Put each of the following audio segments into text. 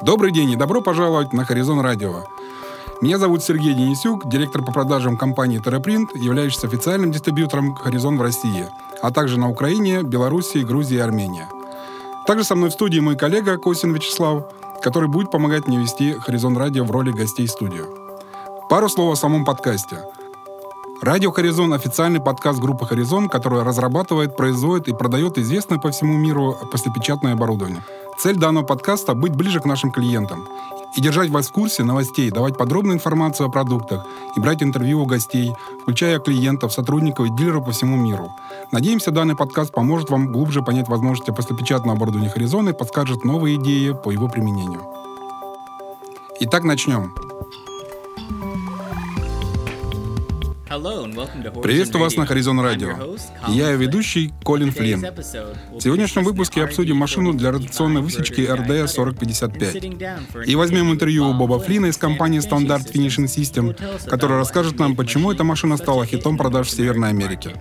Добрый день и добро пожаловать на Horizon Radio. Меня зовут Сергей Денисюк, директор по продажам компании TerraPrint, являющийся официальным дистрибьютором Horizon в России, а также на Украине, Беларуси, Грузии и Армении. Также со мной в студии мой коллега Косин Вячеслав, который будет помогать мне вести Horizon Radio в роли гостей студии. Пару слов о самом подкасте. Радио Horizon — официальный подкаст группы Horizon, которая разрабатывает, производит и продает известное по всему миру послепечатное оборудование. Цель данного подкаста — быть ближе к нашим клиентам и держать вас в курсе новостей, давать подробную информацию о продуктах и брать интервью у гостей, включая клиентов, сотрудников и дилеров по всему миру. Надеемся, данный подкаст поможет вам глубже понять возможности послепечатного оборудования Horizon и подскажет новые идеи по его применению. Итак, начнем. Приветствую вас на Horizon Radio. И я ведущий Колин Флинн. В сегодняшнем выпуске обсудим машину для ротационной высечки RD4055. И возьмем интервью у Боба Флинна из компании Standard Finishing System, который расскажет нам, почему эта машина стала хитом продаж в Северной Америке.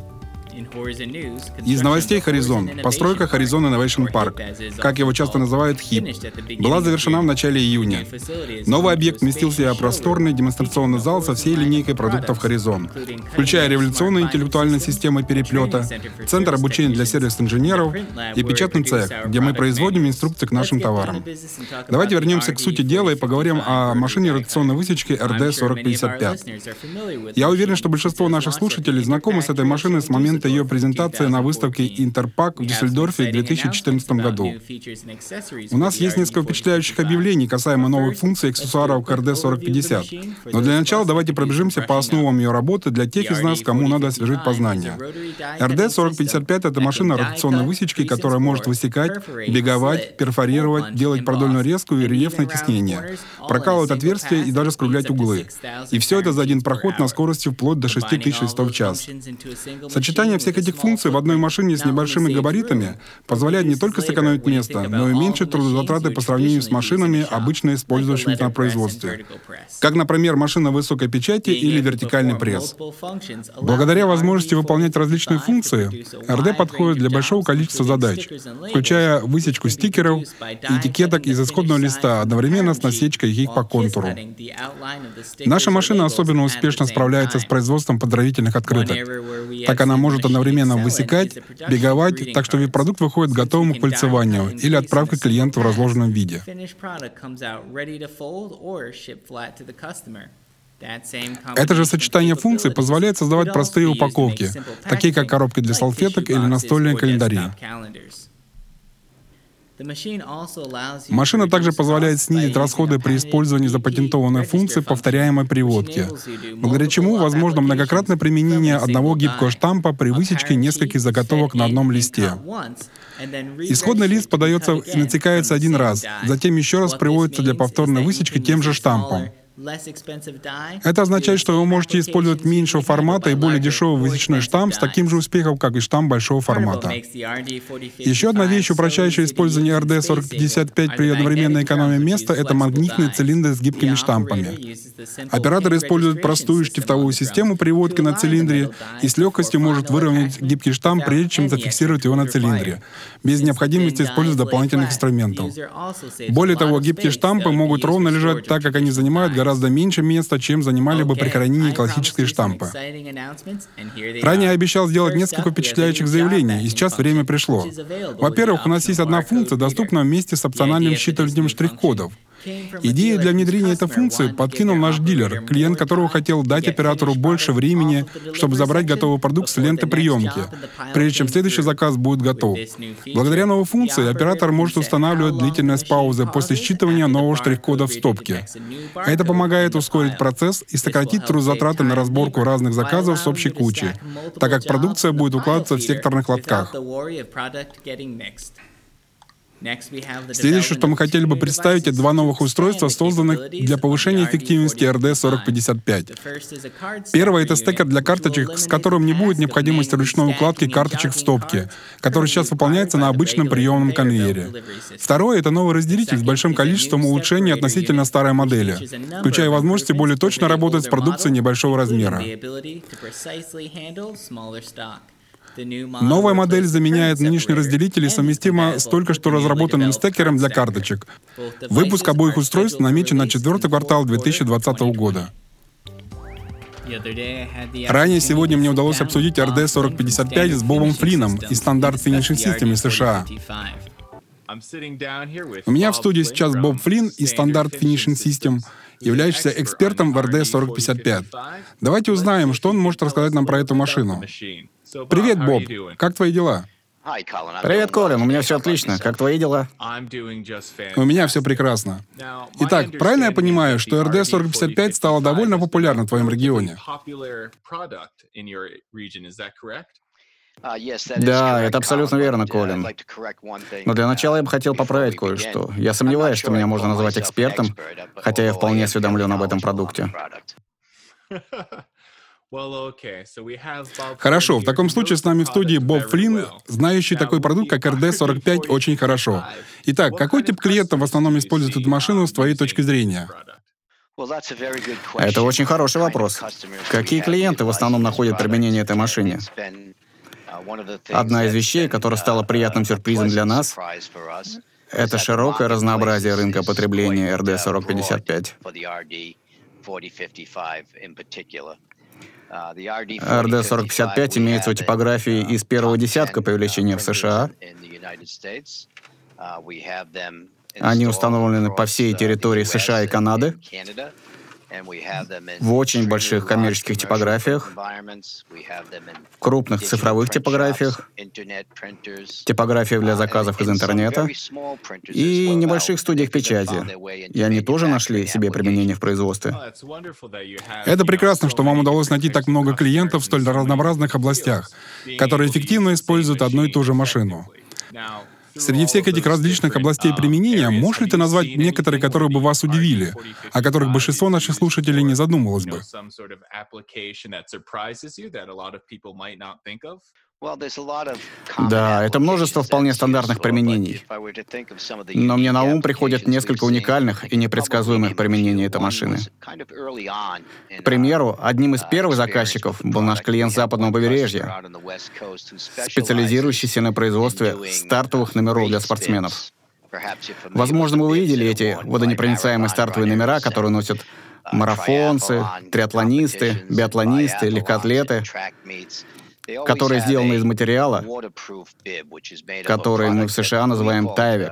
Из новостей Horizon. Постройка Horizon Innovation Park, как его часто называют HIP, была завершена в начале июня. Новый объект вместил в себя просторный демонстрационный зал со всей линейкой продуктов Horizon, включая революционную интеллектуальную систему переплета, центр обучения для сервис-инженеров и печатный цех, где мы производим инструкции к нашим товарам. Давайте вернемся к сути дела и поговорим о машине ротационной высечки RD4055. Я уверен, что большинство наших слушателей знакомы с этой машиной с момента ее презентации на выставке Интерпак в Дюссельдорфе в 2014 году. У нас есть несколько впечатляющих объявлений касаемо новых функций и аксессуаров к RD4050. Но для начала давайте пробежимся по основам ее работы для тех из нас, кому надо освежить познания. RD4055 — это машина ротационной высечки, которая может высекать, биговать, перфорировать, делать продольную резку и рельефное тиснение, прокалывать отверстия и даже скруглять углы. И все это за один проход на скорости вплоть до 6000 листов в час. Сочетание всех этих функций в одной машине с небольшими габаритами позволяет не только сэкономить место, но и уменьшить трудозатраты по сравнению с машинами, обычно использующимися на производстве, как, например, машина высокой печати или вертикальный пресс. Благодаря возможности выполнять различные функции, RD подходит для большого количества задач, включая высечку стикеров и этикеток из исходного листа одновременно с насечкой их по контуру. Наша машина особенно успешно справляется с производством поздравительных открыток, так она может одновременно высекать, биговать, так что продукт выходит готовым к пыльцеванию или отправке клиенту в разложенном виде. Это же сочетание функций позволяет создавать простые упаковки, такие как коробки для салфеток или настольные календари. Машина также позволяет снизить расходы при использовании запатентованной функции повторяемой приводки, благодаря чему возможно многократное применение одного гибкого штампа при высечке нескольких заготовок на одном листе. Исходный лист подается и натекается один раз, затем еще раз приводится для повторной высечки тем же штампом. Это означает, что вы можете использовать меньшего формата и более дешевый высечной штамп с таким же успехом, как и штамп большого формата. Еще одна вещь, упрощающая использование RD4055 при одновременной экономии места, это магнитные цилиндры с гибкими штампами. Оператор использует простую штифтовую систему приводки на цилиндре и с легкостью может выровнять гибкий штамп, прежде чем зафиксировать его на цилиндре, без необходимости использовать дополнительных инструментов. Более того, гибкие штампы могут ровно лежать так, как они занимают гораздо меньше места, чем занимали бы при хранении классические штампы. Ранее я обещал сделать несколько впечатляющих заявлений, и сейчас время пришло. Во-первых, у нас есть одна функция, доступная вместе с опциональным считыванием штрих-кодов. Идею для внедрения этой функции подкинул наш дилер, клиент которого хотел дать оператору больше времени, чтобы забрать готовый продукт с ленты приемки, прежде чем следующий заказ будет готов. Благодаря новой функции оператор может устанавливать длительность паузы после считывания нового штрих-кода в стопке. Это помогает ускорить процесс и сократить трудозатраты на разборку разных заказов с общей кучи, так как продукция будет укладываться в секторных лотках. Следующее, что мы хотели бы представить, это два новых устройства, созданных для повышения эффективности RD4055. Первое — это стекер для карточек, с которым не будет необходимости ручной укладки карточек в стопке, который сейчас выполняется на обычном приемном конвейере. Второе — это новый разделитель с большим количеством улучшений относительно старой модели, включая возможности более точно работать с продукцией небольшого размера. Новая модель заменяет нынешний разделитель и совместима с только что разработанным стекером для карточек. Выпуск обоих устройств намечен на четвертый квартал 2020 года. Ранее сегодня мне удалось обсудить RD4055 с Бобом Флином из Standard Finishing System из США. У меня в студии сейчас Боб Флин из Standard Finishing System, являющийся экспертом в RD4055. Давайте узнаем, что он может рассказать нам про эту машину. Привет, Боб. Как твои дела? Привет, Колин, у меня все отлично. Как твои дела? У меня все прекрасно. Итак, правильно я понимаю, что RD4055 стала довольно популярна в твоем регионе? Да, это абсолютно верно, Колин. Но для начала я бы хотел поправить кое-что. Я сомневаюсь, что меня можно назвать экспертом, хотя я вполне осведомлен об этом продукте. Хорошо, в таком случае с нами в студии Боб Флин, знающий такой продукт, как RD45, очень хорошо. Итак, какой тип клиентов в основном использует эту машину с твоей точки зрения? Это очень хороший вопрос. Какие клиенты в основном находят применение этой машине? Одна из вещей, которая стала приятным сюрпризом для нас, это широкое разнообразие рынка потребления RD4055. RD4055 имеется у типографии из первого десятка по величине в США. Они установлены по всей территории США и Канады, в очень больших коммерческих типографиях, в крупных цифровых типографиях, типографиях для заказов из интернета и небольших студиях печати. И они тоже нашли себе применение в производстве. Это прекрасно, что вам удалось найти так много клиентов в столь разнообразных областях, которые эффективно используют одну и ту же машину. Среди всех этих различных областей применения, можешь ли ты назвать некоторые, которые бы вас удивили, о которых большинство наших слушателей не задумывалось бы? Да, это множество вполне стандартных применений. Но мне на ум приходят несколько уникальных и непредсказуемых применений этой машины. К примеру, одним из первых заказчиков был наш клиент с западного побережья, специализирующийся на производстве стартовых номеров для спортсменов. Возможно, вы видели эти водонепроницаемые стартовые номера, которые носят марафонцы, триатлонисты, биатлонисты, легкоатлеты, которые сделаны из материала, который мы в США называем Tyvek.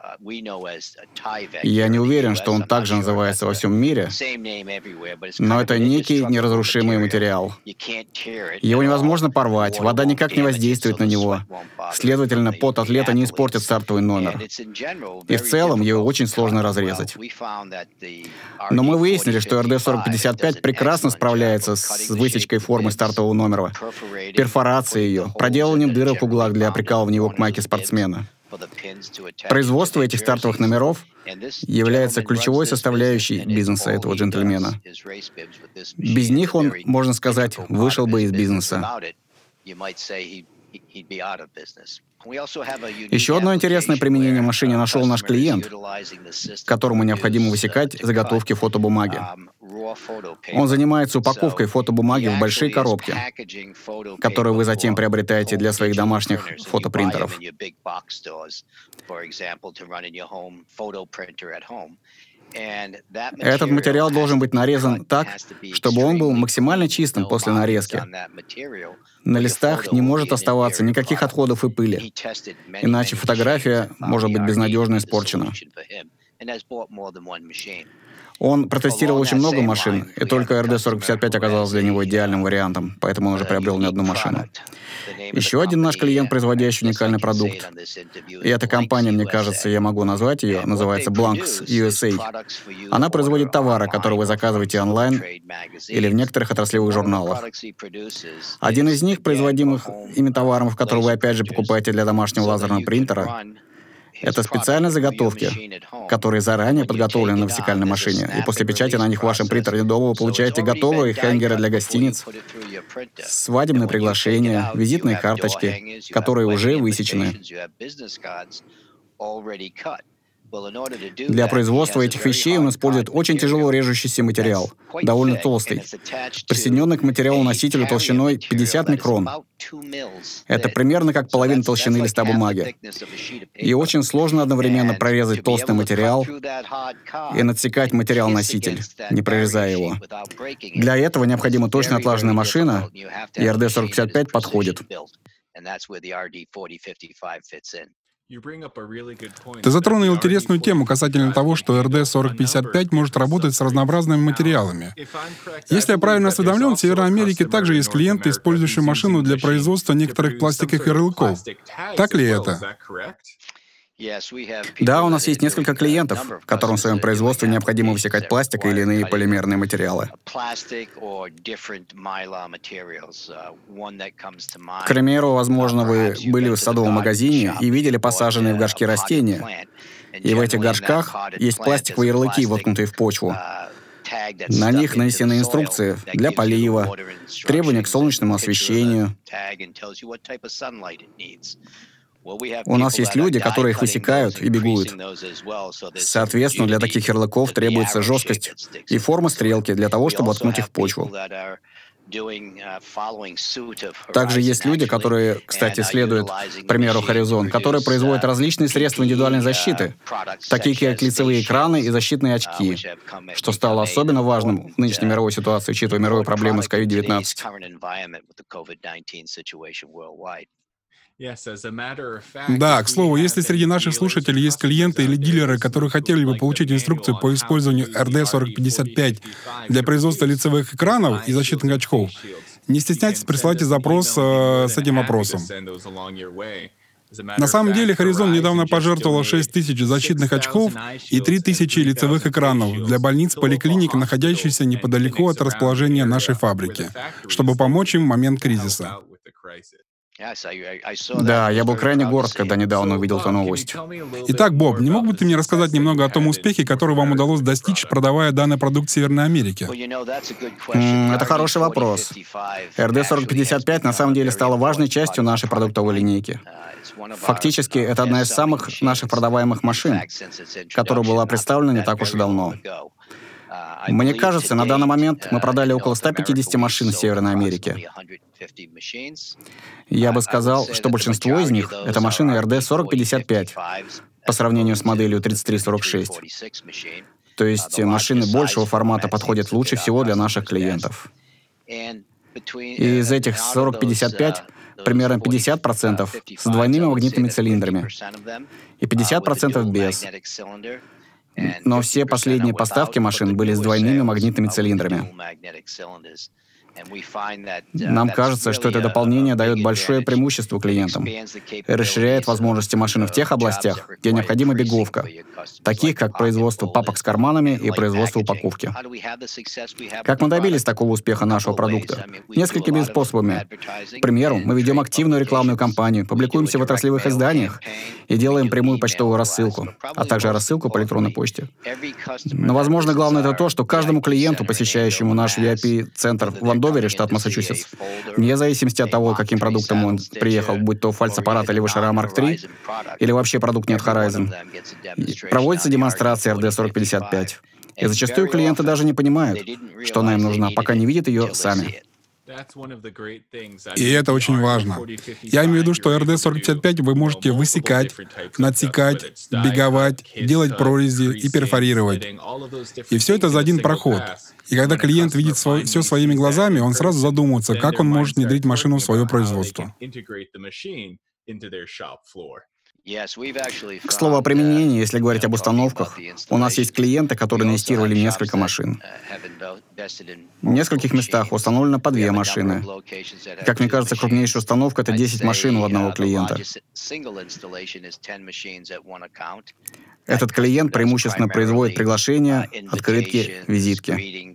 Я не уверен, что он также называется во всем мире, но это некий неразрушимый материал. Его невозможно порвать, вода никак не воздействует на него. Следовательно, пот атлета не испортит стартовый номер. И в целом его очень сложно разрезать. Но мы выяснили, что RD4055 прекрасно справляется с высечкой формы стартового номера, перфорацией ее, проделыванием дырок в углах для прикалывания его к майке спортсмена. Производство этих стартовых номеров является ключевой составляющей бизнеса этого джентльмена. Без них он, можно сказать, вышел бы из бизнеса. Еще одно интересное применение машине нашел наш клиент, которому необходимо высекать заготовки фотобумаги. Он занимается упаковкой фотобумаги в большие коробки, которые вы затем приобретаете для своих домашних фотопринтеров. Этот материал должен быть нарезан так, чтобы он был максимально чистым после нарезки. На листах не может оставаться никаких отходов и пыли, иначе фотография может быть безнадежно испорчена. Он протестировал очень много машин, и только RD4055 оказалась для него идеальным вариантом, поэтому он уже приобрел не одну машину. Еще один наш клиент, производящий уникальный продукт, и эта компания, мне кажется, я могу назвать ее, называется Blanks USA. Она производит товары, которые вы заказываете онлайн или в некоторых отраслевых журналах. Один из них, производимых ими товаров, которые вы опять же покупаете для домашнего лазерного принтера, это специальные заготовки, которые заранее подготовлены на вертикальной машине, и после печати на них в вашем принтере дома вы получаете готовые хенгеры для гостиниц, свадебные приглашения, визитные карточки, которые уже высечены. Для производства этих вещей он использует очень тяжело режущийся материал, довольно толстый, присоединенный к материалу-носителю толщиной 50 микрон. Это примерно как половина толщины листа бумаги. И очень сложно одновременно прорезать толстый материал и надсекать материал-носитель, не прорезая его. Для этого необходима точно отлаженная машина, и RD-4055 подходит. Ты затронул интересную тему касательно того, что RD-4055 может работать с разнообразными материалами. Если я правильно осведомлен, в Северной Америке также есть клиенты, использующие машину для производства некоторых пластиковых ярлыков. Так ли это? Да, у нас есть несколько клиентов, которым в своем производстве необходимо высекать пластик или иные полимерные материалы. К примеру, возможно, вы были в садовом магазине и видели посаженные в горшки растения. И в этих горшках есть пластиковые ярлыки, воткнутые в почву. На них нанесены инструкции для полива, требования к солнечному освещению. У нас есть люди, которые их высекают и бегут. Соответственно, для таких ярлыков требуется жесткость и форма стрелки для того, чтобы воткнуть их в почву. Также есть люди, которые, кстати, следуют примеру Horizon, которые производят различные средства индивидуальной защиты, такие как лицевые экраны и защитные очки, что стало особенно важным в нынешней мировой ситуации, учитывая мировые проблемы с COVID-19. Да, к слову, если среди наших слушателей есть клиенты или дилеры, которые хотели бы получить инструкцию по использованию RD-4055 для производства лицевых экранов и защитных очков, не стесняйтесь, присылайте запрос с этим вопросом. На самом деле, Horizon недавно пожертвовала 6000 защитных очков и 3000 лицевых экранов для больниц, поликлиник, находящихся неподалеку от расположения нашей фабрики, чтобы помочь им в момент кризиса. Да, я был крайне горд, когда недавно увидел эту новость. Итак, Боб, не мог бы ты мне рассказать немного о том успехе, который вам удалось достичь, продавая данный продукт в Северной Америке? Это хороший вопрос. RD-4055 на самом деле стала важной частью нашей продуктовой линейки. Фактически, это одна из самых наших продаваемых машин, которая была представлена не так уж и давно. Мне кажется, на данный момент мы продали около 150 машин в Северной Америке. Я бы сказал, что большинство из них — это машины RD-4055 по сравнению с моделью 3346. То есть машины большего формата подходят лучше всего для наших клиентов. И из этих 4055 примерно 50% с двойными магнитными цилиндрами и 50% без. Но все последние поставки машин были с двойными магнитными цилиндрами. Нам кажется, что это дополнение дает большое преимущество клиентам и расширяет возможности машины в тех областях, где необходима беговка, таких как производство папок с карманами и производство упаковки. Как мы добились такого успеха нашего продукта? Несколькими способами. К примеру, мы ведем активную рекламную кампанию, публикуемся в отраслевых изданиях и делаем прямую почтовую рассылку, а также рассылку по электронной почте. Но, возможно, главное это то, что каждому клиенту, посещающему наш VIP-центр в Андовере, штат Массачусетс, вне зависимости от того, каким продуктом он приехал, будь то фальц-аппарат или Вышера Mark III, или вообще продукт не от Horizon, проводится демонстрация RD-4055. И зачастую клиенты даже не понимают, что она им нужна, пока не видят ее сами. И это очень важно. Я имею в виду, что RD-4055 вы можете высекать, надсекать, беговать, делать прорези и перфорировать. И все это за один проход. И когда клиент видит все своими глазами, он сразу задумывается, как он может внедрить машину в свое производство. К слову о применении, если говорить об установках, у нас есть клиенты, которые инвестировали в несколько машин. В нескольких местах установлено по 2 машины. Как мне кажется, крупнейшая установка — это 10 машин у одного клиента. Этот клиент преимущественно производит приглашения, открытки, визитки.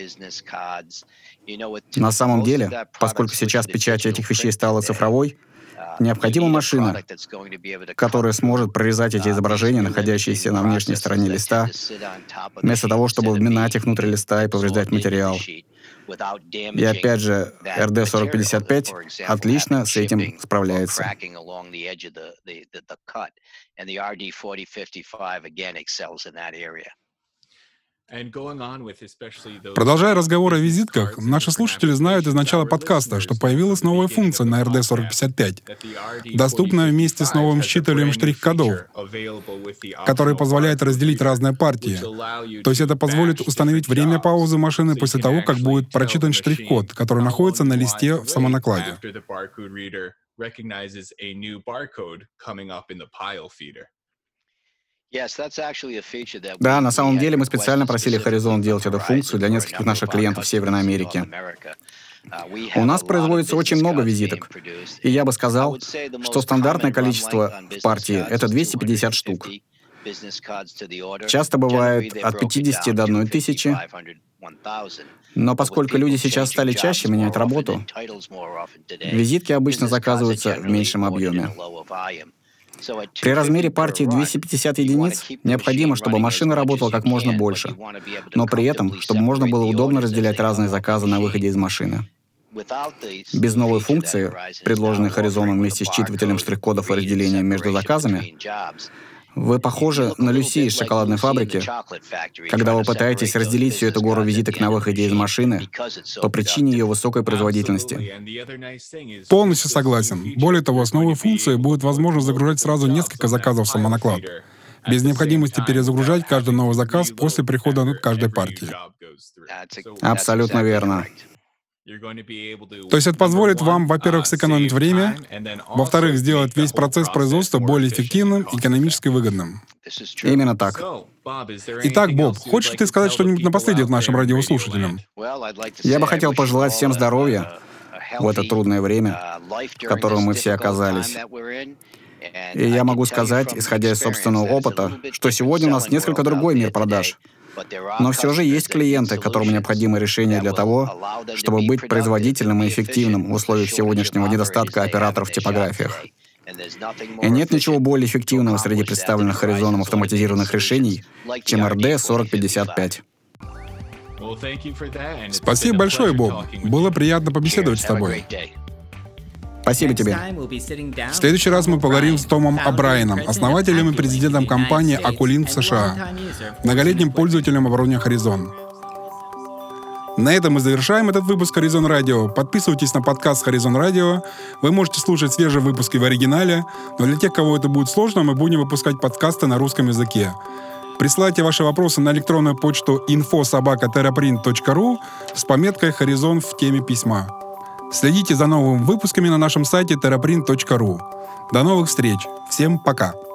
На самом деле, поскольку сейчас печать этих вещей стала цифровой, Необходима машина, которая сможет прорезать эти изображения, находящиеся на внешней стороне листа, вместо того, чтобы вминать их внутрь листа и повреждать материал. И опять же, RD4055 отлично с этим справляется. Продолжая разговор о визитках, наши слушатели знают из начала подкаста, что появилась новая функция на RD4055, доступная вместе с новым считывателем штрих-кодов, который позволяет разделить разные партии. То есть это позволит установить время паузы машины после того, как будет прочитан штрих-код, который находится на листе в самонакладе. Да, на самом деле мы специально просили Horizon делать эту функцию для нескольких наших клиентов в Северной Америке. У нас производится очень много визиток, и я бы сказал, что стандартное количество в партии — это 250 штук. Часто бывает от 50 до 1000, но поскольку люди сейчас стали чаще менять работу, визитки обычно заказываются в меньшем объеме. При размере партии 250 единиц необходимо, чтобы машина работала как можно больше, но при этом, чтобы можно было удобно разделять разные заказы на выходе из машины. Без новой функции, предложенной Horizon вместе с считывателем штрих-кодов и разделением между заказами, вы похожи на Люси из шоколадной фабрики, когда вы пытаетесь разделить всю эту гору визиток на выходе из машины по причине ее высокой производительности. Полностью согласен. Более того, с новой функцией будет возможно загружать сразу несколько заказов в самонаклад, без необходимости перезагружать каждый новый заказ после прихода к каждой партии. Абсолютно верно. То есть это позволит вам, во-первых, сэкономить время, во-вторых, сделать весь процесс производства более эффективным и экономически выгодным. Именно так. Итак, Боб, хочешь ты сказать что-нибудь напоследок нашим радиослушателям? Я бы хотел пожелать всем здоровья в это трудное время, в котором мы все оказались. И я могу сказать, исходя из собственного опыта, что сегодня у нас несколько другой мир продаж. Но все же есть клиенты, которым необходимо решение для того, чтобы быть производительным и эффективным в условиях сегодняшнего недостатка операторов в типографиях. И нет ничего более эффективного среди представленных Horizon автоматизированных решений, чем RD4055. Спасибо большое, Боб. Было приятно побеседовать с тобой. Спасибо тебе. В следующий раз мы поговорим с Томом О'Брайеном, основателем и президентом компании Aculink в США, многолетним пользователем оборудования Horizon. На этом мы завершаем этот выпуск Horizon Radio. Подписывайтесь на подкаст Horizon Radio. Вы можете слушать свежие выпуски в оригинале, но для тех, кого это будет сложно, мы будем выпускать подкасты на русском языке. Присылайте ваши вопросы на электронную почту info@teraprint.ru с пометкой Horizon в теме письма. Следите за новыми выпусками на нашем сайте teraprint.ru. До новых встреч. Всем пока.